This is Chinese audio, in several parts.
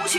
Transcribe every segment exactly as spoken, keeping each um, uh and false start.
婿。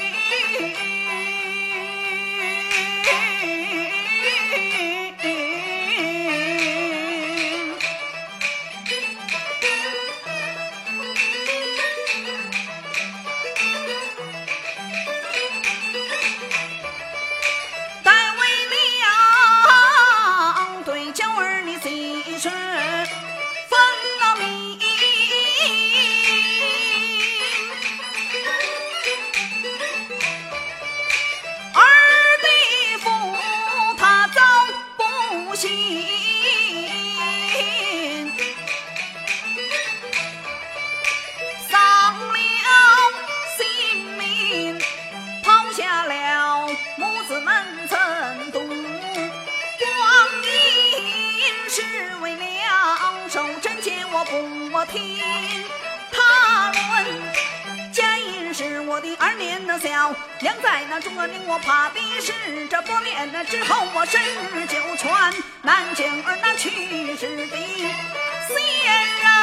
不听他论，家因是我的二年的小，养在那中儿令我怕的是这多年了之后，我身就传南京儿那去世的先人。